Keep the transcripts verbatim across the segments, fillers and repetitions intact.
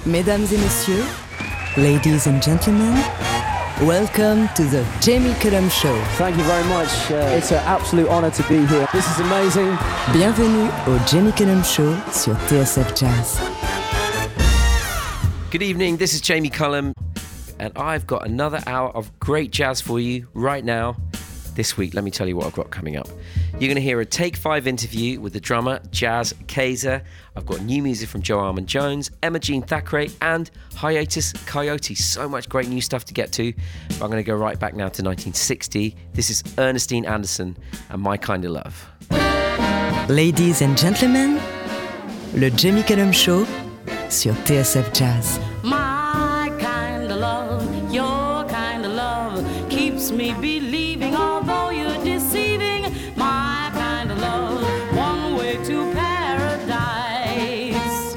Mesdames et messieurs, ladies and gentlemen, welcome to the Jamie Cullum Show. Thank you very much. Uh, it's an absolute honor to be here. This is amazing. Bienvenue au Jamie Cullum Show sur T S F Jazz. Good evening, this is Jamie Cullum, and I've got another hour of great jazz for you right now. This week, let me tell you what I've got coming up. You're going to hear a Take Five interview with the drummer Jazz Kaiser. I've got new music from Joe Armon-Jones, Emma Jean Thackeray, and Hiatus Kaiyote. So much great new stuff to get to. But I'm going to go right back now to nineteen sixty. This is Ernestine Anderson and My Kind of Love. Ladies and gentlemen, le Jamie Cullum Show sur T S F Jazz. My kind of love, your kind of love keeps me believing, although you're deceiving. My kind of love, one way to paradise.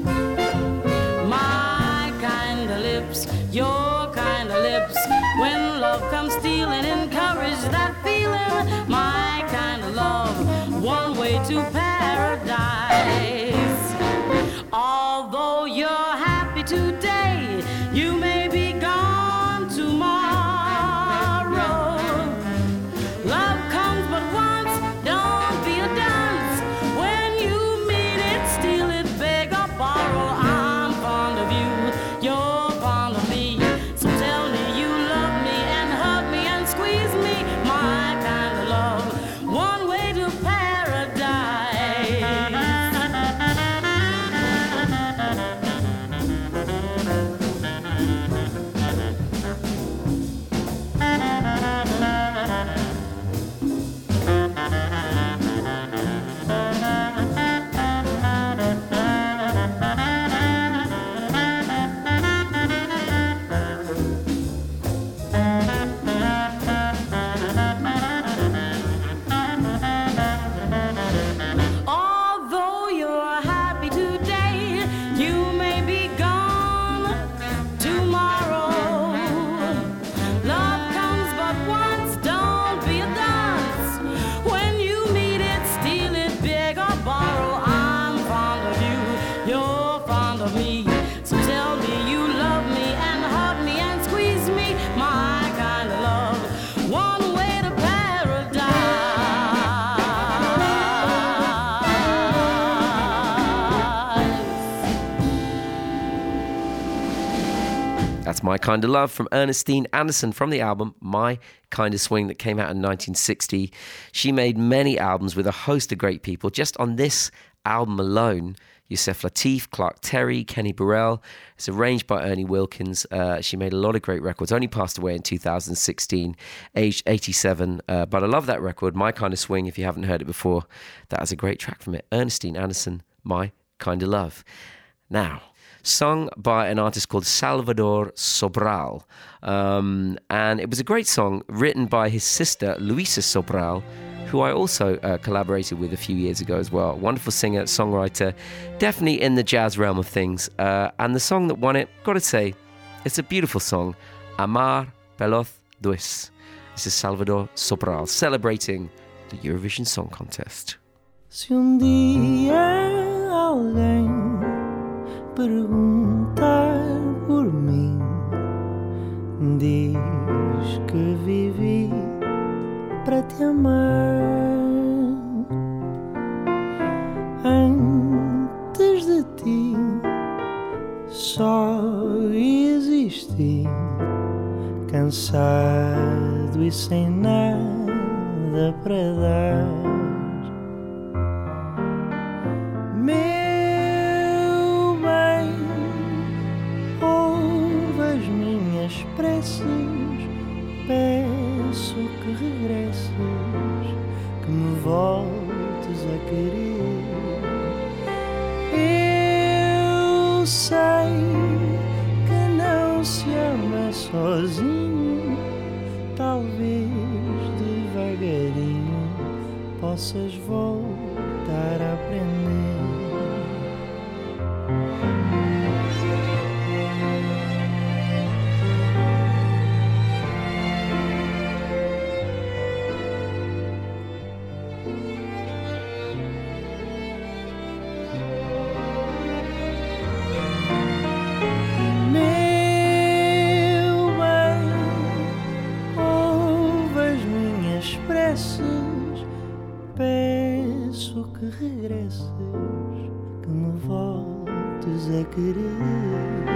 My kind of lips, your kind of lips, when love comes stealing, encourage that feeling. My kind of love, one way to paradise. Although you're happy today, you may be gone tomorrow. Love comes but once, don't be a dunce. When you meet it, steal it, beg or borrow. I'm fond of you, you're fond of me. So tell me you love me and hug me and squeeze me. My kind of love, one way to paradise. Although you're happy today, you may be gone tomorrow. Love comes but once, don't be a dunce. When you meet it, steal it, beg or borrow. I'm fond of you, you're fond of me. So tell me you love me and hug me and squeeze me. My kind of love, one way to paradise. That's My Kind of Love from Ernestine Anderson from the album My Kind of Swing that came out in nineteen sixty. She made many albums with a host of great people. Just on this album alone, Yusef Lateef, Clark Terry, Kenny Burrell. It's arranged by Ernie Wilkins. Uh, she made a lot of great records. Only passed away in two thousand sixteen, aged eighty-seven. Uh, but I love that record, My Kind of Swing. If you haven't heard it before, that is a great track from it. Ernestine Anderson, My Kind of Love. Now, sung by an artist called Salvador Sobral. Um, and it was a great song written by his sister, Luisa Sobral, who I also uh, collaborated with a few years ago as well. Wonderful singer, songwriter, definitely in the jazz realm of things. Uh, and the song that won it, gotta say, it's a beautiful song, Amar Pelos Dos. This is Salvador Sobral celebrating the Eurovision Song Contest. Se um dia alguém perguntar por mim, diz que vivi para te amar. Antes de ti só existi, cansado e sem nada para dar. Meu bem, ouve as minhas preces, peço que regresses, que me voltes a querer. Eu sei que não se ama sozinho, talvez devagarinho possas voltar a aprender. muitos a querer.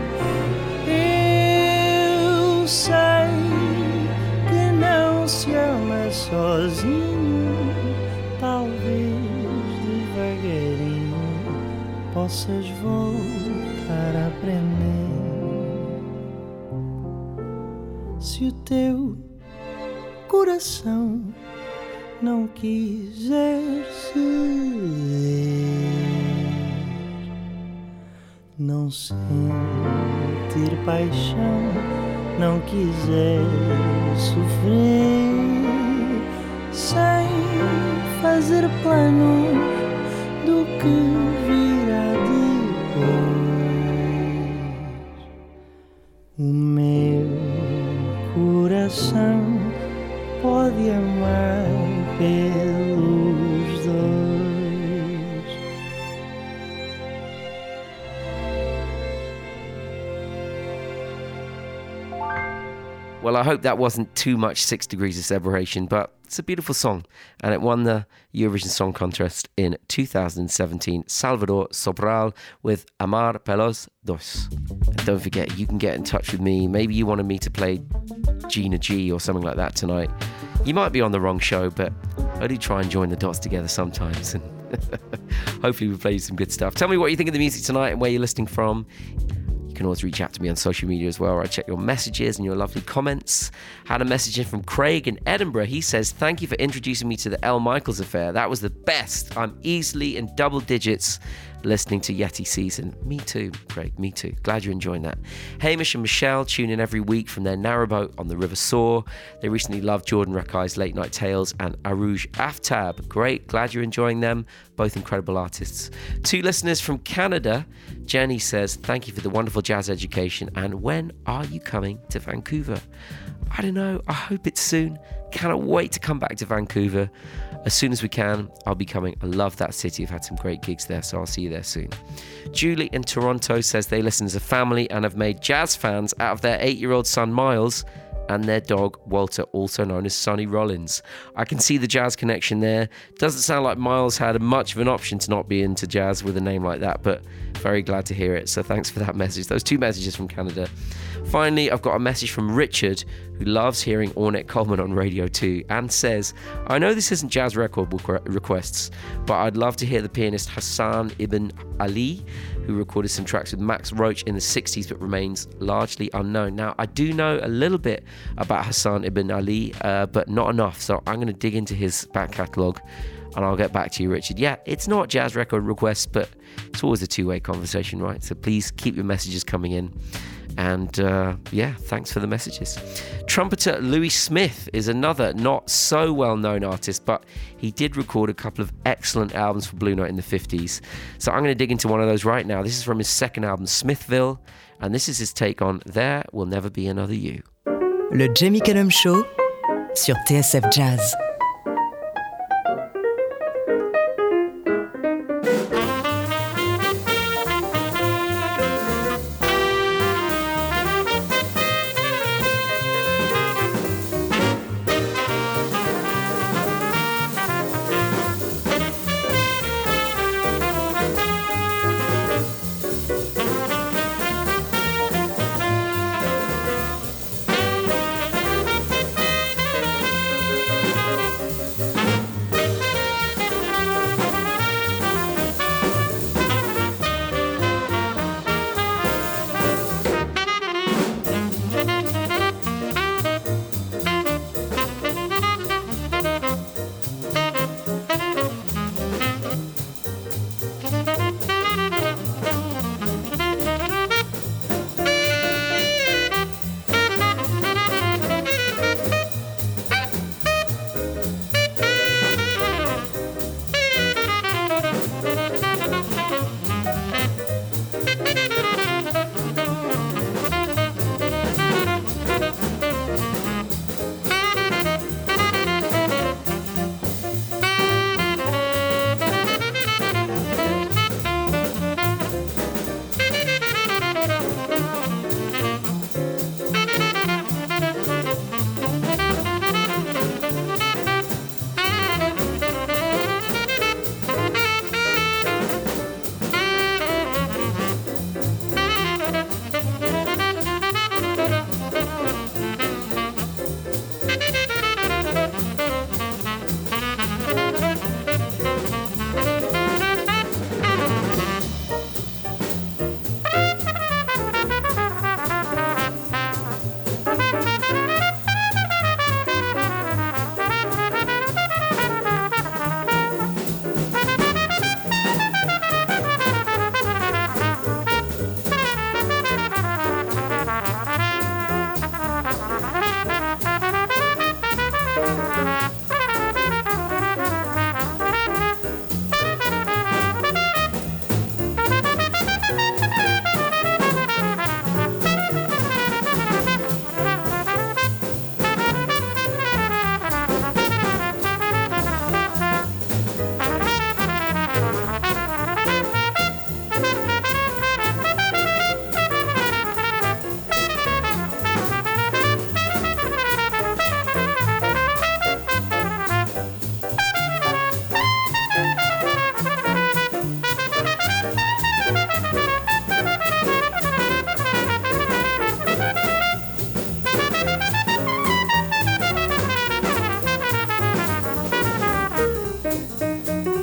Eu sei que não se ama sozinho, talvez devagarinho possas voltar a aprender. Se o teu coração não quiser ceder, não sentir paixão, não quiser sofrer, sem fazer planos do que virá depois. O meu coração pode amar pelos dois. Well, I hope that wasn't too much Six Degrees of Separation, but it's a beautiful song, and it won the Eurovision Song Contest in two thousand seventeen. Salvador Sobral with Amar Pelos Dos. And don't forget, you can get in touch with me. Maybe you wanted me to play Gina G or something like that tonight. You might be on the wrong show, but I do try and join the dots together sometimes, and hopefully we play you some good stuff. Tell me what you think of the music tonight and where you're listening from. You can always reach out to me on social media as well, where I check your messages and your lovely comments. Had a message in from Craig in Edinburgh. He says, thank you for introducing me to the Elle Michaels affair. That was the best. I'm easily in double digits listening to Yeti Season. Me too, Craig, me too. Glad you're enjoying that. Hamish and Michelle tune in every week from their narrowboat on the River Soar. They recently loved Jordan Rakai's Late Night Tales and Arouj Aftab. Great, glad you're enjoying them. Both incredible artists. Two listeners from Canada. Jenny says, thank you for the wonderful jazz education, and when are you coming to Vancouver? I don't know, I hope it's soon. Cannot wait to come back to Vancouver. As soon as we can, I'll be coming. I love that city. I've had some great gigs there, so I'll see you there soon. Julie in Toronto says they listen as a family and have made jazz fans out of their eight-year-old son Miles and their dog Walter, also known as Sonny Rollins. I can see the jazz connection there. Doesn't sound like Miles had much of an option to not be into jazz with a name like that, but very glad to hear it. So thanks for that message. Those two messages from Canada. Finally, I've got a message from Richard, who loves hearing Ornette Coleman on Radio two, and says, I know this isn't jazz record requests, but I'd love to hear the pianist Hassan Ibn Ali, who recorded some tracks with Max Roach in the sixties but remains largely unknown. Now, I do know a little bit about Hassan Ibn Ali, uh, but not enough, so I'm going to dig into his back catalogue and I'll get back to you, Richard. Yeah, it's not jazz record requests, but it's always a two-way conversation, right? So please keep your messages coming in. And uh, yeah, thanks for the messages. Trumpeter Louis Smith is another not so well-known artist, but he did record a couple of excellent albums for Blue Note in the fifties. So I'm going to dig into one of those right now. This is from his second album, Smithville, and this is his take on There Will Never Be Another You. Le Jamie Cullum Show sur T S F Jazz. Thank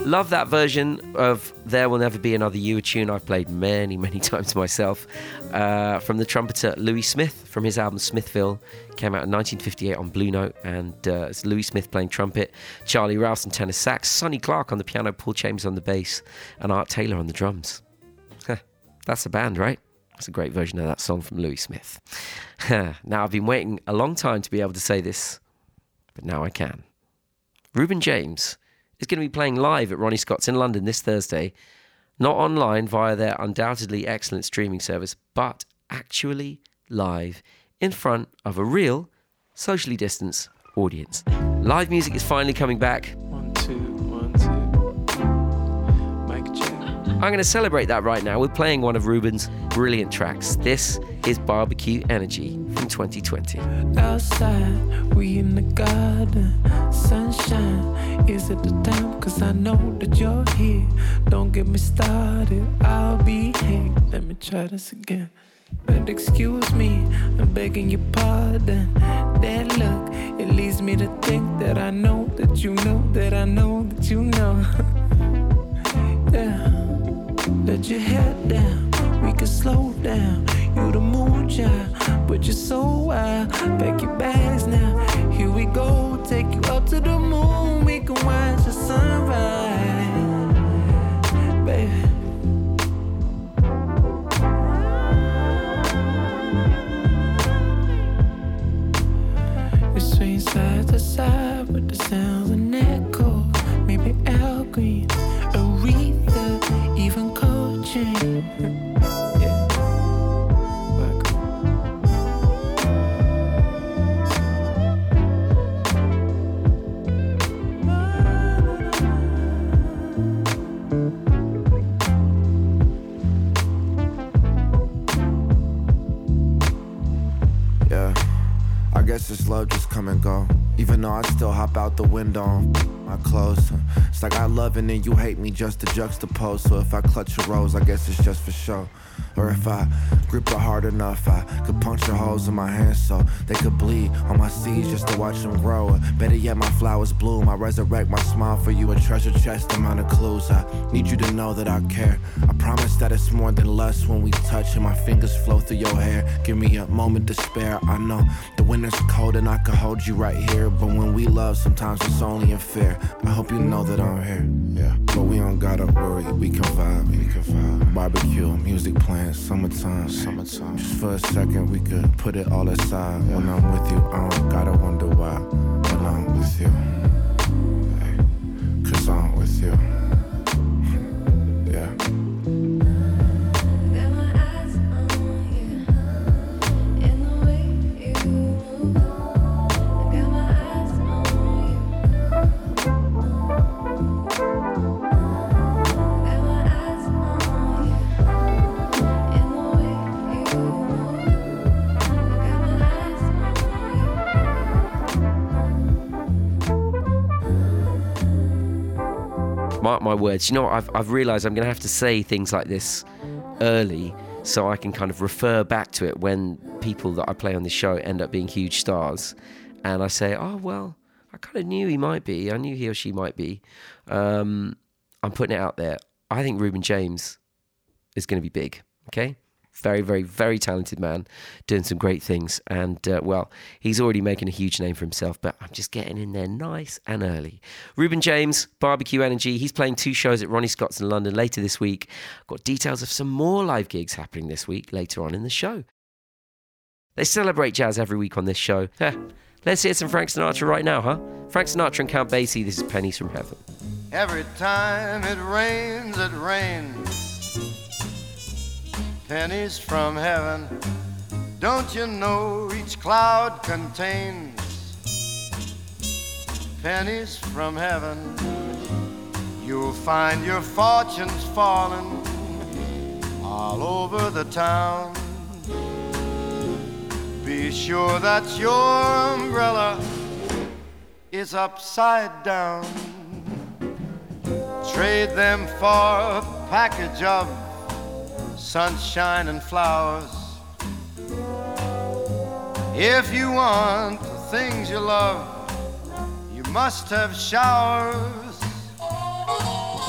Love that version of There Will Never Be Another You, a tune I've played many, many times myself, uh, from the trumpeter Louis Smith from his album Smithville. Came out in nineteen fifty-eight on Blue Note, and uh, it's Louis Smith playing trumpet, Charlie Rouse on tenor sax, Sonny Clark on the piano, Paul Chambers on the bass, and Art Taylor on the drums. That's a band, right? That's a great version of that song from Louis Smith. Now, I've been waiting a long time to be able to say this, but now I can. Reuben James is going to be playing live at Ronnie Scott's in London this Thursday, not online via their undoubtedly excellent streaming service, but actually live in front of a real, socially distanced audience. Live music is finally coming back. One, two, one, two. Mic check. I'm going to celebrate that right now with playing one of Reuben's brilliant tracks. This is Barbecue Energy from twenty twenty. Outside, we in the garden, sunshine, is it the time? Cause I know that you're here. Don't get me started, I'll be here. Let me try this again. But excuse me, I'm begging your pardon. That look, it leads me to think that I know that you know that I know that you know. Yeah, let your head down, we can slow down. You the moon child, but you're so wild. Pack your bags now, here we go. Take you up to the moon, we can watch the sunrise, baby. We swing side to side with the sounds and echo. Maybe Al Green, Aretha, even Coltrane. This love just come and go. Even though I still hop out the window on my clothes. It's like I love and then you hate me just to juxtapose. So if I clutch a rose, I guess it's just for show. Or if I grip it hard enough, I could puncture holes in my hands so they could bleed on my seeds just to watch them grow. Or better yet, my flowers bloom. I resurrect my smile for you, a treasure chest amount of clues. I need you to know that I care. I promise that it's more than lust when we touch and my fingers flow through your hair. Give me a moment to spare. I know the winter's cold and I could hold you right here, but when we love, sometimes it's only unfair. I hope you know that I'm here. Yeah, but we don't gotta worry. We can vibe. We can vibe. Barbecue, music playing, summertime, summertime. Just for a second, we could put it all aside. Yeah. When I'm with you, I don't gotta wonder why. When I'm with you, hey, cause I'm with you. Yeah. Mark my words. You know what? I've, I've realised I'm going to have to say things like this early so I can kind of refer back to it when people that I play on this show end up being huge stars. And I say, oh, well, I kind of knew he might be. I knew he or she might be. Um, I'm putting it out there. I think Reuben James is going to be big, okay? Very, very, very talented man, doing some great things. And, uh, well, he's already making a huge name for himself, but I'm just getting in there nice and early. Reuben James, Barbecue Energy. He's playing two shows at Ronnie Scott's in London later this week. Got details of some more live gigs happening this week later on in the show. They celebrate jazz every week on this show. Let's hear some Frank Sinatra right now, huh? Frank Sinatra and Count Basie. This is Pennies from Heaven. Every time it rains, it rains. Pennies from heaven, don't you know each cloud contains pennies from heaven? You'll find your fortunes falling all over the town. Be sure that your umbrella is upside down. Trade them for a package of sunshine and flowers. If you want the things you love, you must have showers.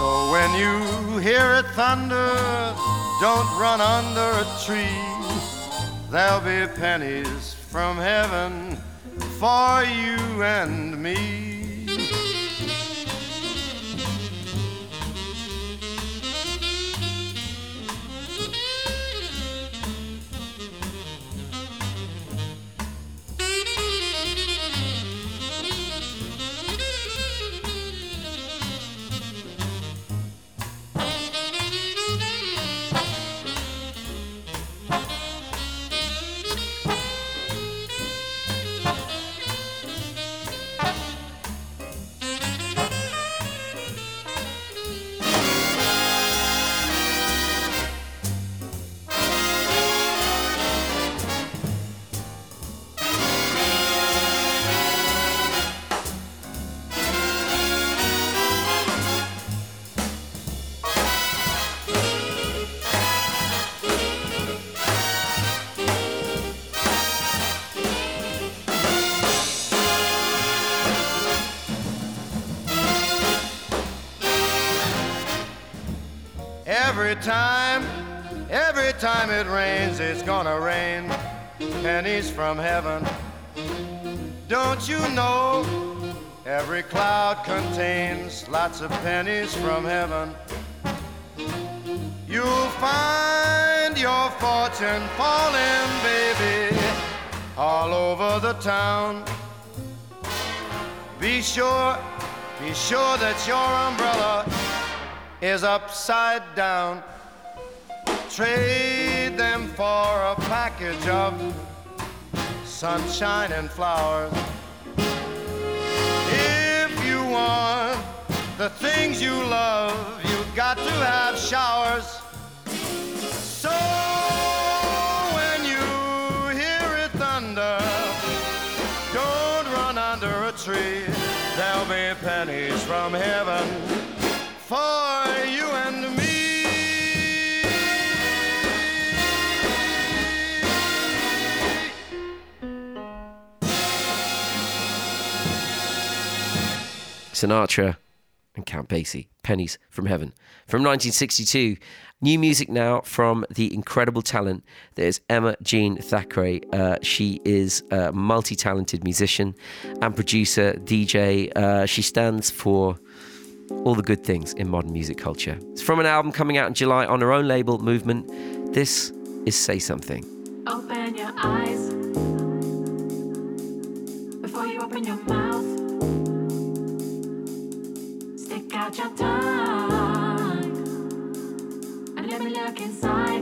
So when you hear it thunder, don't run under a tree. There'll be pennies from heaven for you and me. Every time, every time it rains, it's gonna rain pennies from heaven. Don't you know every cloud contains lots of pennies from heaven? You'll find your fortune falling, baby, all over the town. Be sure, be sure that your umbrella is upside down. Trade them for a package of sunshine and flowers. If you want the things you love, you've got to have showers. So when you hear it thunder, don't run under a tree. There'll be pennies from heaven for you and me. Sinatra and Count Basie, Pennies from Heaven. From nineteen sixty-two, new music now from the incredible talent that is Emma Jean Thackeray. Uh, she is a multi-talented musician and producer, D J. Uh, she stands for all the good things in modern music culture. It's from an album coming out in July on her own label, Movement. This is Say Something. Open your eyes before you open your mouth. Stick out your tongue and let me look inside.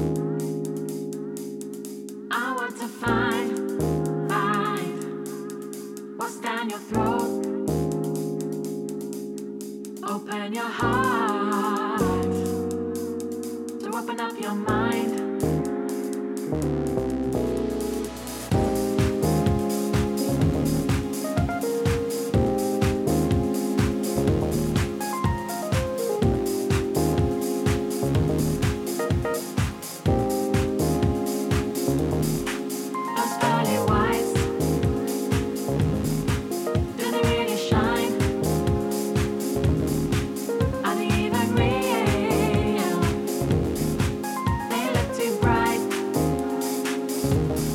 I want to find, find what's down your throat. Open your heart to open up your mind. Those pearly whites, do they really shine? Are they even real? They look too bright.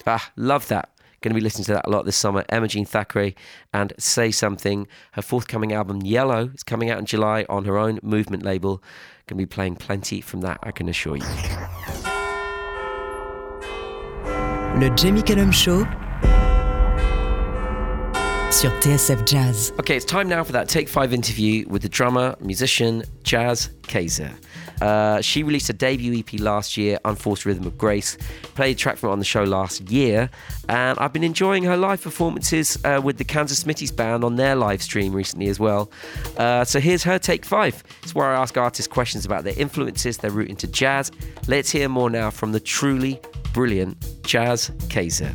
Ah, love that. Going to be listening to that a lot this summer. Emma Jean Thackeray and Say Something. Her forthcoming album, Yellow, is coming out in July on her own Movement label. Going to be playing plenty from that, I can assure you. Le Jamie Cullum Show sur T S F Jazz. Okay, it's time now for that Take five interview with the drummer, musician, Jazz Kayser. Uh, she released a debut E P last year, Unforced Rhythm of Grace. Played a track from it on the show last year, and I've been enjoying her live performances uh, with the Kansas Smitty's band on their live stream recently as well. Uh, so here's her Take five. It's where I ask artists questions about their influences, their route into jazz. Let's hear more now from the truly brilliant Jazz Kayser.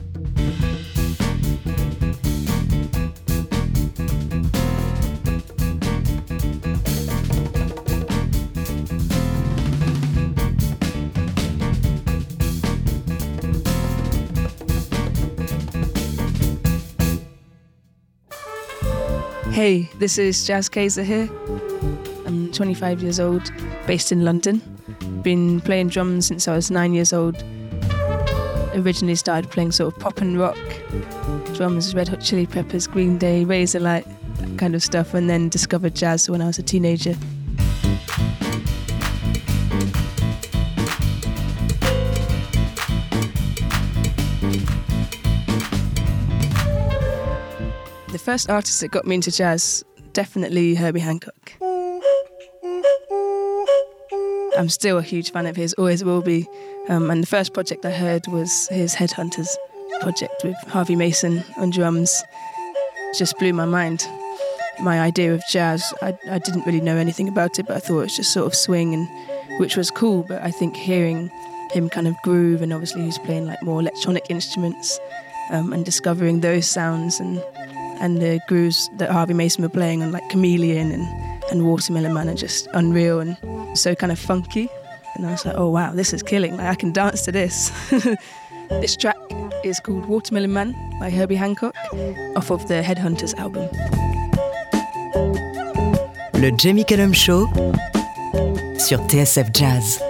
Hey, this is Jazz Kayser here. I'm twenty-five years old, based in London. Been playing drums since I was nine years old. Originally started playing sort of pop and rock, drums, Red Hot Chili Peppers, Green Day, Razorlight, that kind of stuff, and then discovered jazz when I was a teenager. The first artist that got me into jazz, definitely Herbie Hancock. I'm still a huge fan of his, always will be. Um, and the first project I heard was his Headhunters project with Harvey Mason on drums. It just blew my mind. My idea of jazz, I, I didn't really know anything about it, but I thought it was just sort of swing, and which was cool. But I think hearing him kind of groove, and obviously he's playing like more electronic instruments, um, and discovering those sounds and and the grooves that Harvey Mason were playing on like Chameleon and, and Watermelon Man are just unreal and so kind of funky. And I was like, oh wow, this is killing. Like, I can dance to this. This track is called Watermelon Man by Herbie Hancock off of the Headhunters album. Le Jamie Cullum Show sur T S F Jazz.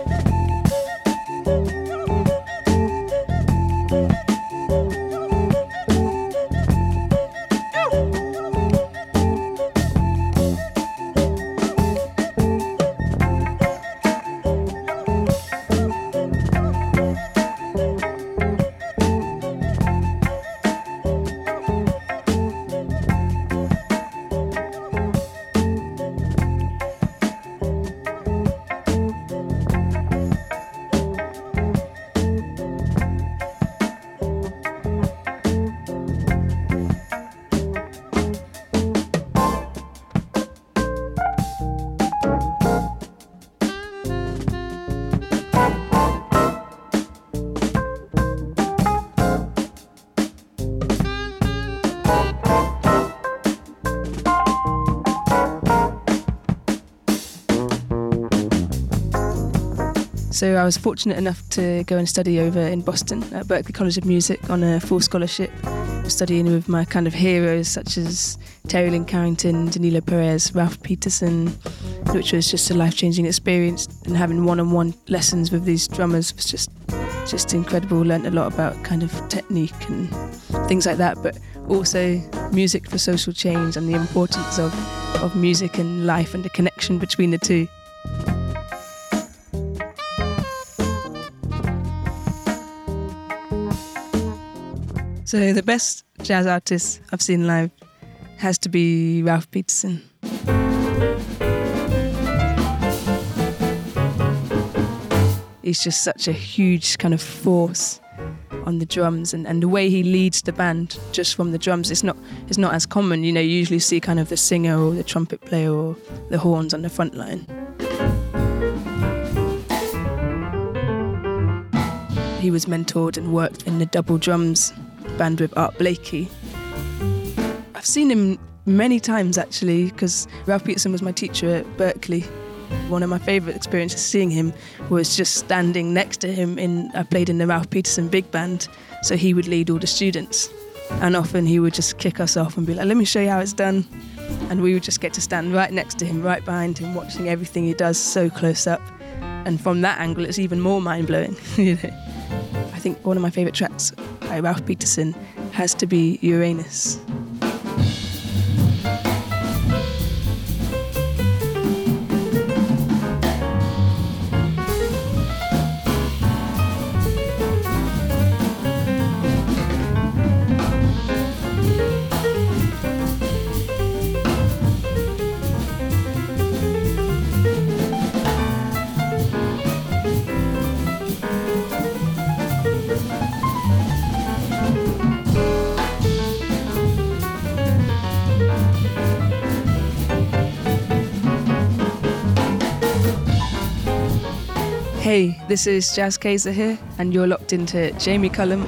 So I was fortunate enough to go and study over in Boston at Berklee College of Music on a full scholarship, studying with my kind of heroes such as Terry Lynn Carrington, Danilo Perez, Ralph Peterson, which was just a life-changing experience. And having one-on-one lessons with these drummers was just just incredible. Learned a lot about kind of technique and things like that, but also music for social change and the importance of, of music and life and the connection between the two. So the best jazz artist I've seen live has to be Ralph Peterson. He's just such a huge kind of force on the drums, and, and the way he leads the band just from the drums, it's not it's not as common. You know, you usually see kind of the singer or the trumpet player or the horns on the front line. He was mentored and worked in the double drums band with Art Blakey. I've seen him many times actually, because Ralph Peterson was my teacher at Berklee. One of my favourite experiences seeing him was just standing next to him. In I played in the Ralph Peterson big band, so he would lead all the students, and often he would just kick us off and be like, let me show you how it's done, and we would just get to stand right next to him, right behind him, watching everything he does so close up. And from that angle it's even more mind-blowing. You know, I think one of my favourite tracks by Ralph Peterson has to be Uranus. Hey, this is Jazz Kaiser here, and you're locked into Jamie Cullum.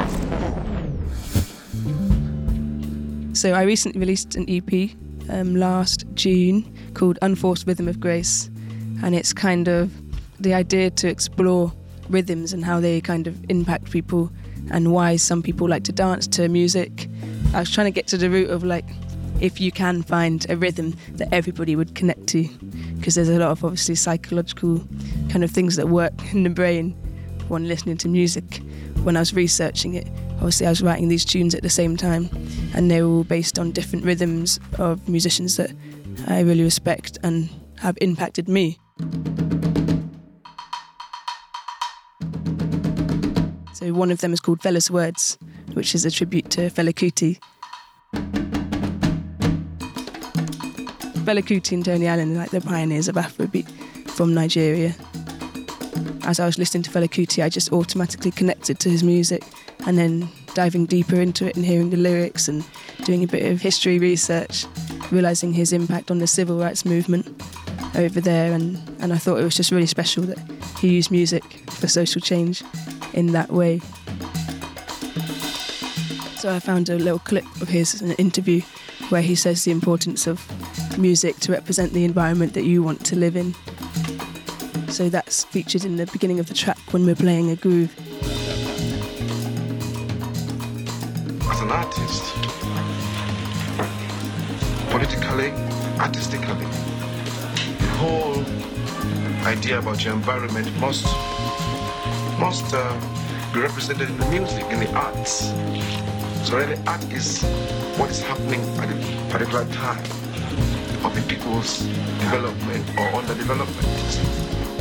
So I recently released an E P um, last June called Unforced Rhythm of Grace, and it's kind of the idea to explore rhythms and how they kind of impact people and why some people like to dance to music. I was trying to get to the root of like, if you can find a rhythm that everybody would connect to, because there's a lot of obviously psychological kind of things that work in the brain when listening to music. When I was researching it, obviously I was writing these tunes at the same time, and they were all based on different rhythms of musicians that I really respect and have impacted me. So one of them is called Fella's Words, which is a tribute to Fela Kuti. Fela Kuti and Tony Allen are like the pioneers of Afrobeat from Nigeria. As I was listening to Fela Kuti, I just automatically connected to his music, and then diving deeper into it and hearing the lyrics and doing a bit of history research, realising his impact on the civil rights movement over there, and, and I thought it was just really special that he used music for social change in that way. So I found a little clip of his in an interview where he says the importance of music to represent the environment that you want to live in. So that's featured in the beginning of the track when we're playing a groove. As an artist, politically, artistically, the whole idea about your environment must must uh, be represented in the music, in the arts. So really, art is what is happening at a particular time of the people's development or underdevelopment.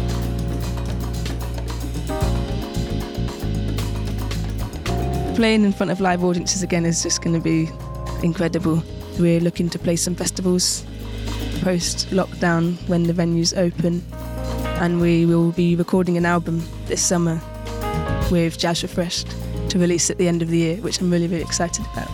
Playing in front of live audiences again is just going to be incredible. We're looking to play some festivals post-lockdown when the venues open, and we will be recording an album this summer with Jazz Refreshed to release at the end of the year, which I'm really, really excited about.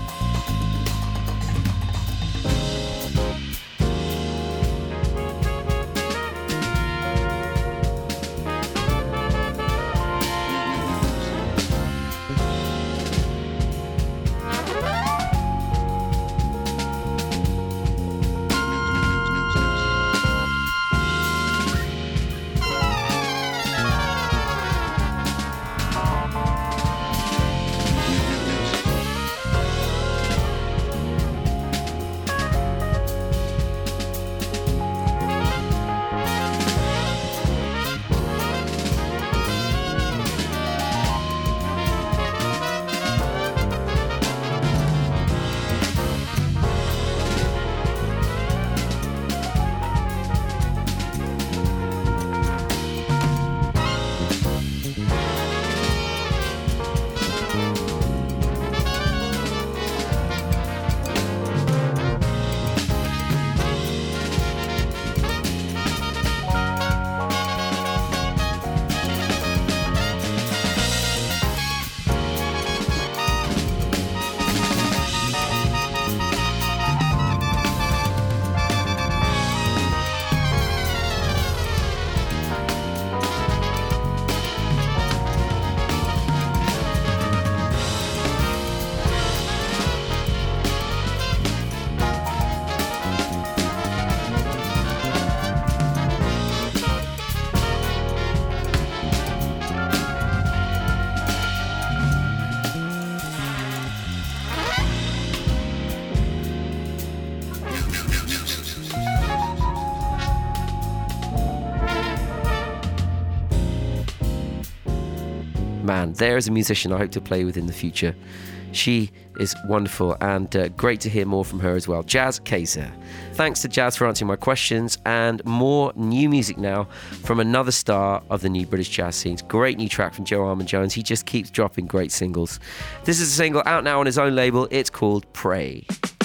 man, there is a musician I hope to play with in the future. She is wonderful, and uh, great to hear more from her as well. Jazz Kaiser. Thanks to Jazz for answering my questions, and more new music now from another star of the new British jazz scenes. Great new track from Joe Armon-Jones. He just keeps dropping great singles. This is a single out now on his own label. It's called Pray.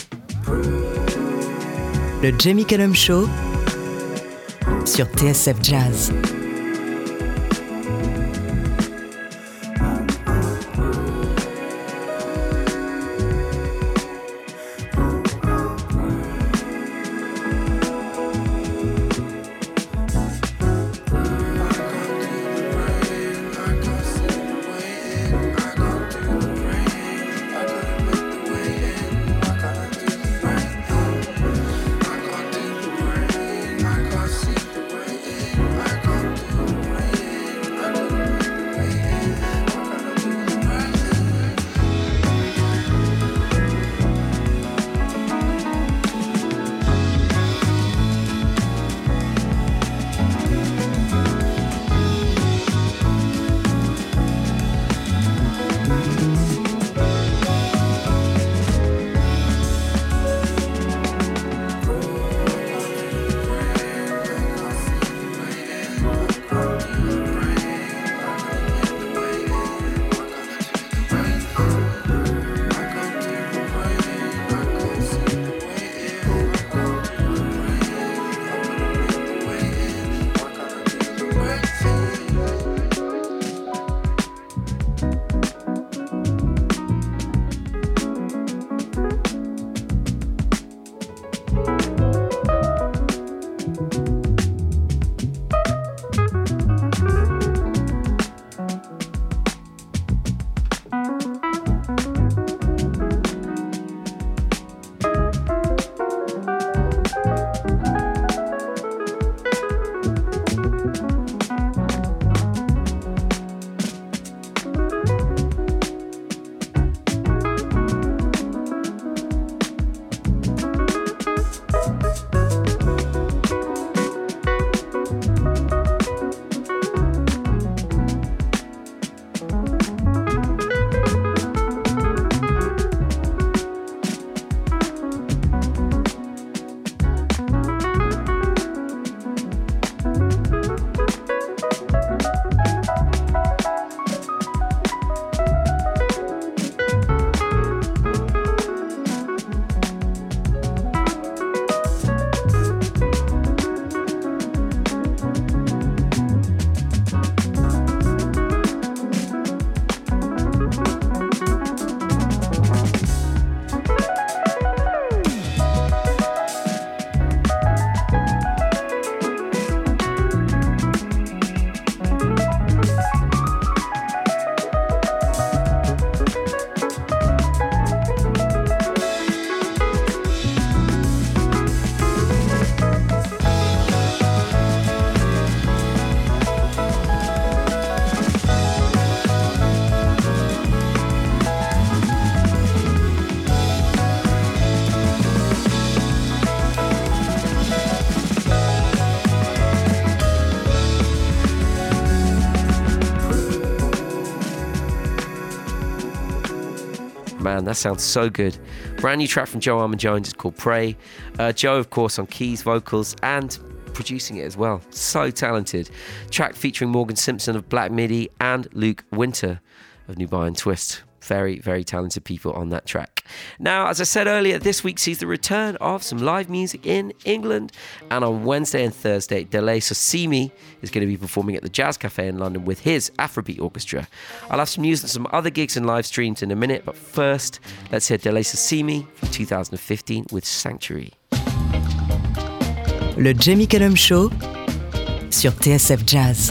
Le Jamie Cullum Show sur T S F Jazz. Man, that sounds so good. Brand new track from Joe Armon-Jones. It's called Pray. Uh, Joe, of course, on keys, vocals, and producing it as well. So talented. Track featuring Morgan Simpson of Black Midi and Luke Winter of Nubian Twist. Very, very talented people on that track. Now, as I said earlier, this week sees the return of some live music in England. And on Wednesday and Thursday, Dele Sosimi is going to be performing at the Jazz Cafe in London with his Afrobeat Orchestra. I'll have some news and some other gigs and live streams in a minute. But first, let's hear Dele Sosimi from two thousand fifteen with Sanctuary. Le Jamie Cullum Show sur T S F Jazz.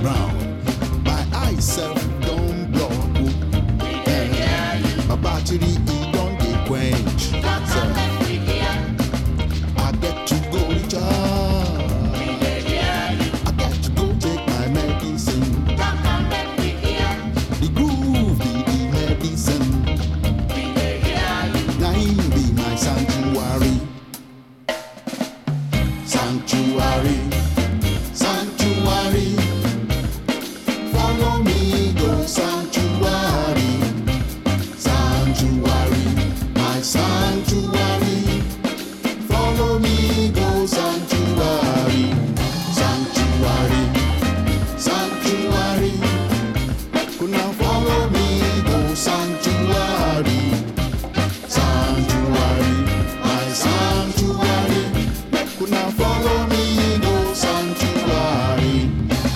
round. My eyes self don't block. Eh, my battery it don't get quench. So, I get to go recharge. I get to go take my medicine. The groove be the medicine. Nine be my sanctuary. Sanctuary, sanctuary. Follow me, go sanctuary. Sanctuary, my sanctuary. Follow me, go sanctuary. Sanctuary, sanctuary. Now follow me, go sanctuary. Sanctuary, my sanctuary. Now follow me, go sanctuary.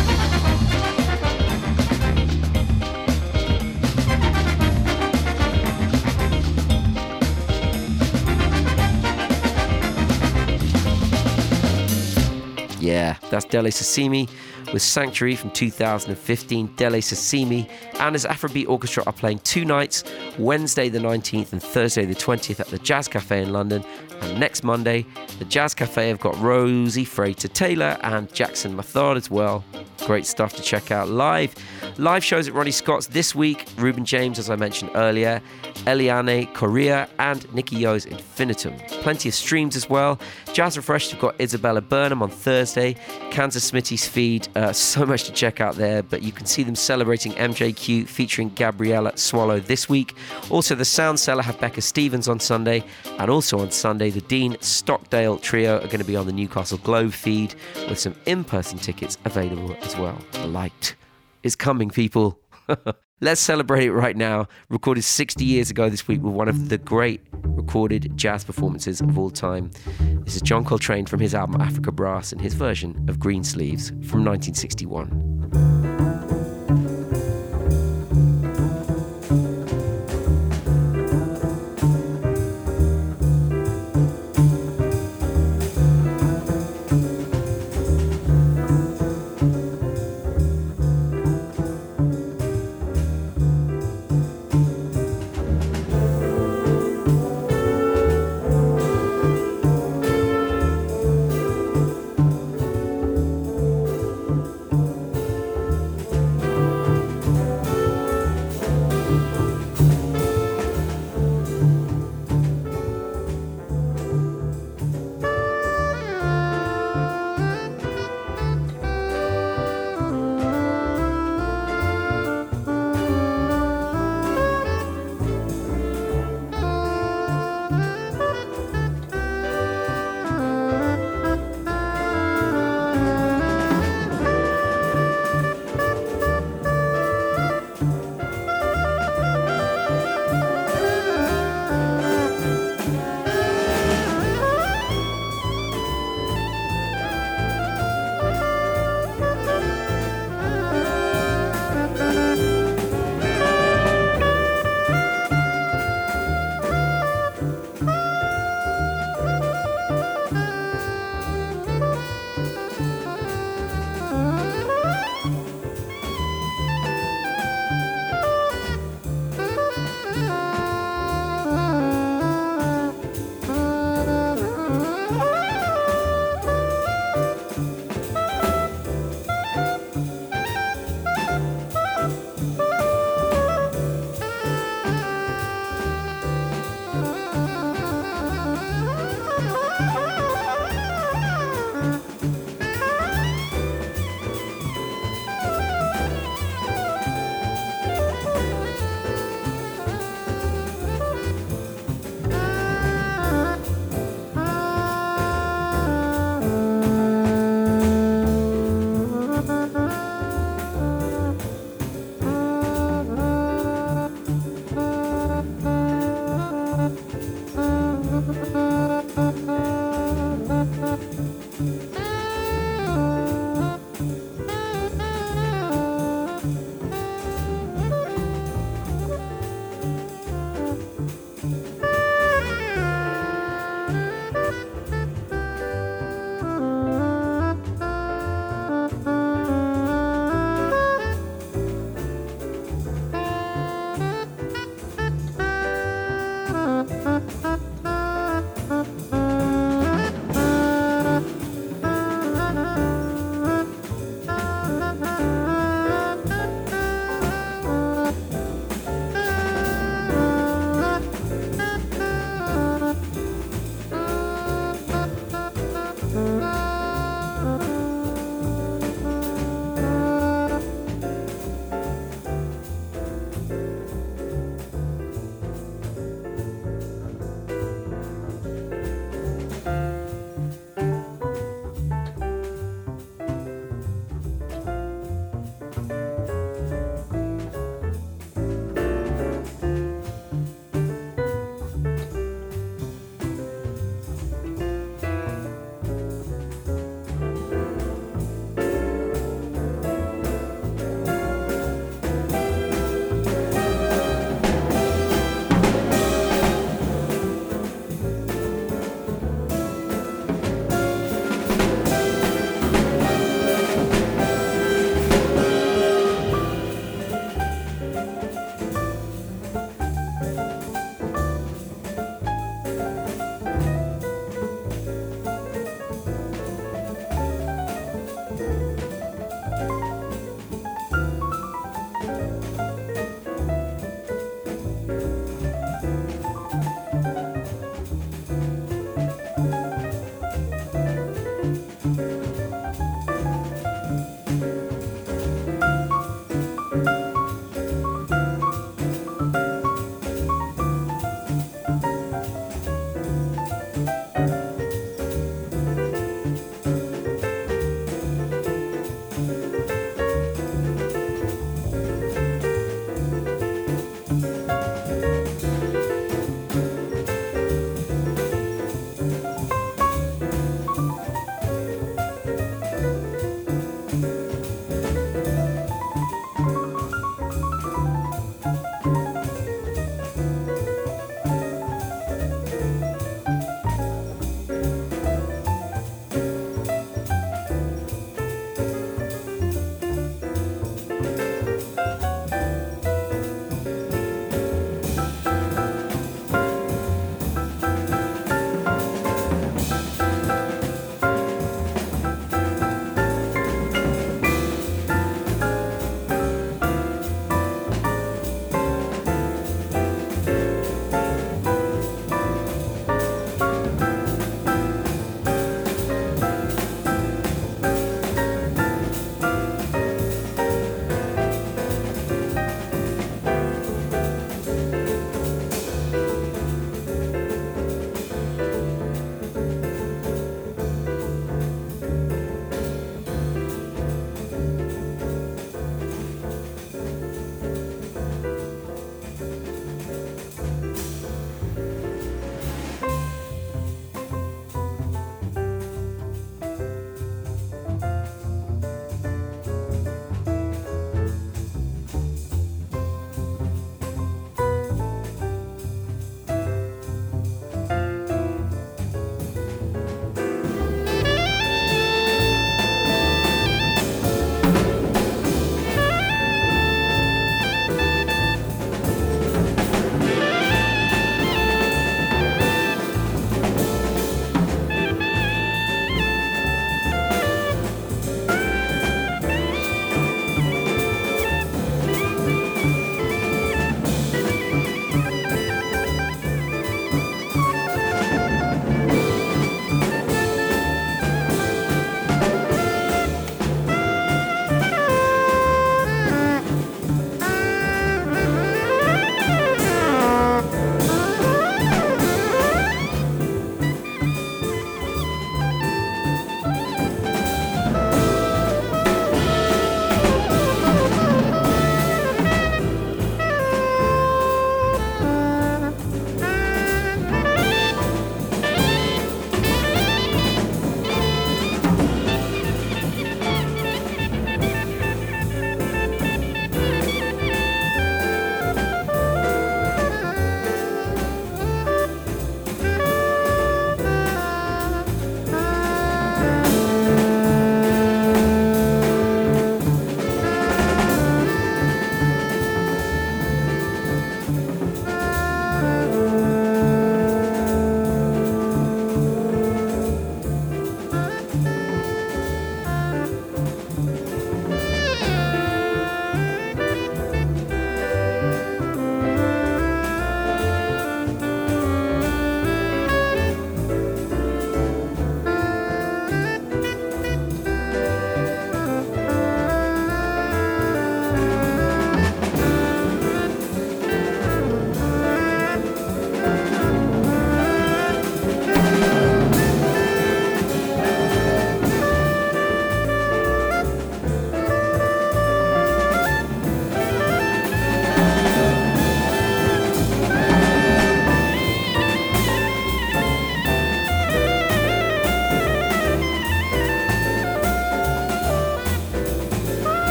Yeah, that's Dele Sasimi with Sanctuary from two thousand fifteen. Dele Sasimi and his Afrobeat Orchestra are playing two nights, Wednesday the nineteenth and Thursday the twentieth at the Jazz Cafe in London. And next Monday, the Jazz Cafe have got Rosie Frater Taylor and Jackson Mathard as well. Great stuff to check out live. Live shows at Ronnie Scott's this week. Reuben James, as I mentioned earlier, Eliane Correa and Nicky Yo's Infinitum. Plenty of streams as well. Jazz Refreshed have got Isabella Burnham on Thursday. Kansas Smitty's feed. Uh, so much to check out there, but you can see them celebrating M J Q featuring Gabriella Swallow this week. Also, the Sound Cellar have Becca Stevens on Sunday. And also on Sunday, the Dean Stockdale Trio are going to be on the Newcastle Globe feed with some in-person tickets available as well. The light is coming, people. Let's celebrate it right now. Recorded sixty years ago this week with one of the great recorded jazz performances of all time. This is John Coltrane from his album Africa Brass and his version of Green Sleeves from nineteen sixty-one.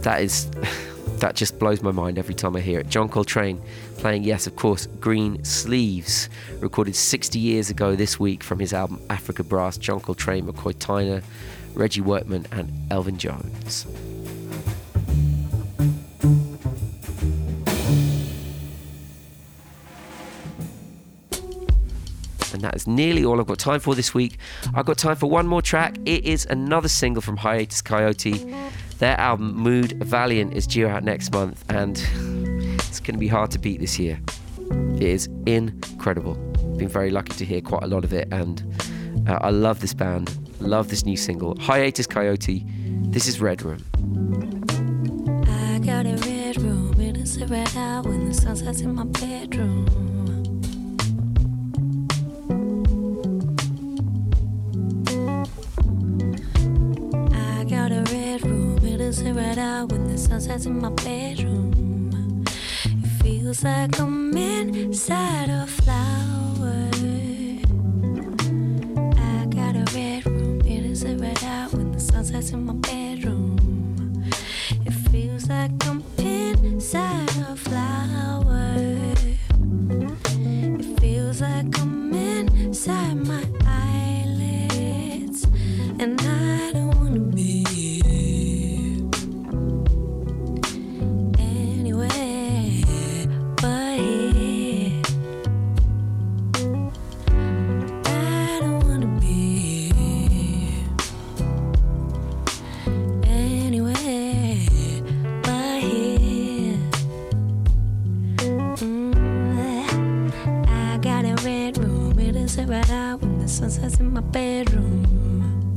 that is, that just blows my mind every time I hear it. John Coltrane playing, yes, of course, Green Sleeves, recorded sixty years ago this week from his album Africa Brass. John Coltrane, McCoy Tyner, Reggie Workman and Elvin Jones. And that is nearly all I've got time for this week. I've got time for one more track. It is another single from Hiatus Coyote. Their album Mood Valiant is due out next month, and it's going to be hard to beat this year. It is incredible. Been very lucky to hear quite a lot of it, and uh, I love this band, love this new single. Hiatus Coyote, this is Red Room. I got a red room, it is red out when the sun sets in my bedroom. Right out when the sun sets in my bedroom. It feels like I'm inside a flower. I got a red room, it is right out when the sun sets in my bedroom. It feels like I'm inside a flower. It feels like I'm inside my eyelids, and I don't wanna be. Right out when the sun sets in my bedroom.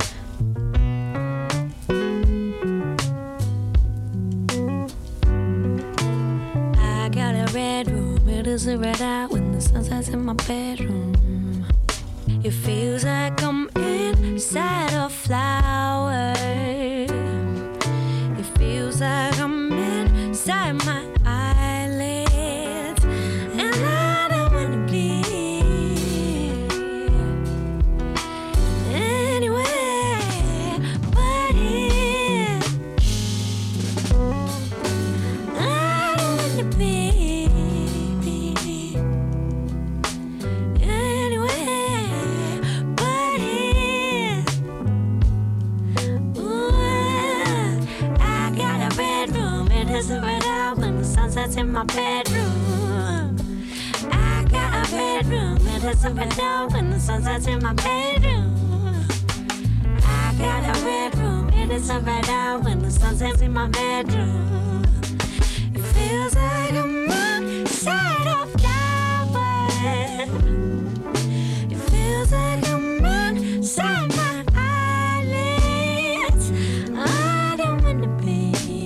I got a red room, it is right out when the sun sets in my bedroom. It feels like I'm inside a flower. It feels like I'm inside my eyelids, and I don't wanna be. That's in my bedroom. I got a bedroom, it is a red out when the sun sets in my bedroom. I got a bedroom, it is a red out when the sun sets in my bedroom. It feels like I'm inside a flower. It feels like I'm inside my eyelids. I don't wanna be.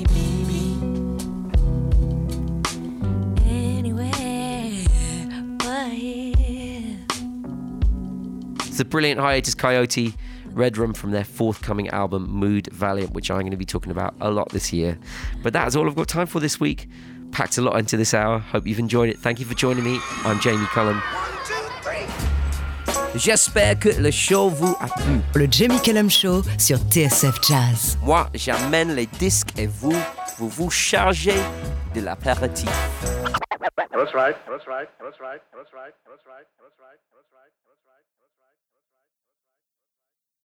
It's the brilliant Hiatus Coyote, Red Room, from their forthcoming album Mood Valiant, which I'm going to be talking about a lot this year. But that is all I've got time for this week. Packed a lot into this hour. Hope you've enjoyed it. Thank you for joining me. I'm Jamie Cullum. J'espère que le show vous a plu. Le Jamie Cullum Show sur T S F Jazz. Moi, j'amène les disques et vous, vous vous chargez de l'apéritif. That's right. That's right. That's right. That's right. That's right. That's right. That's right.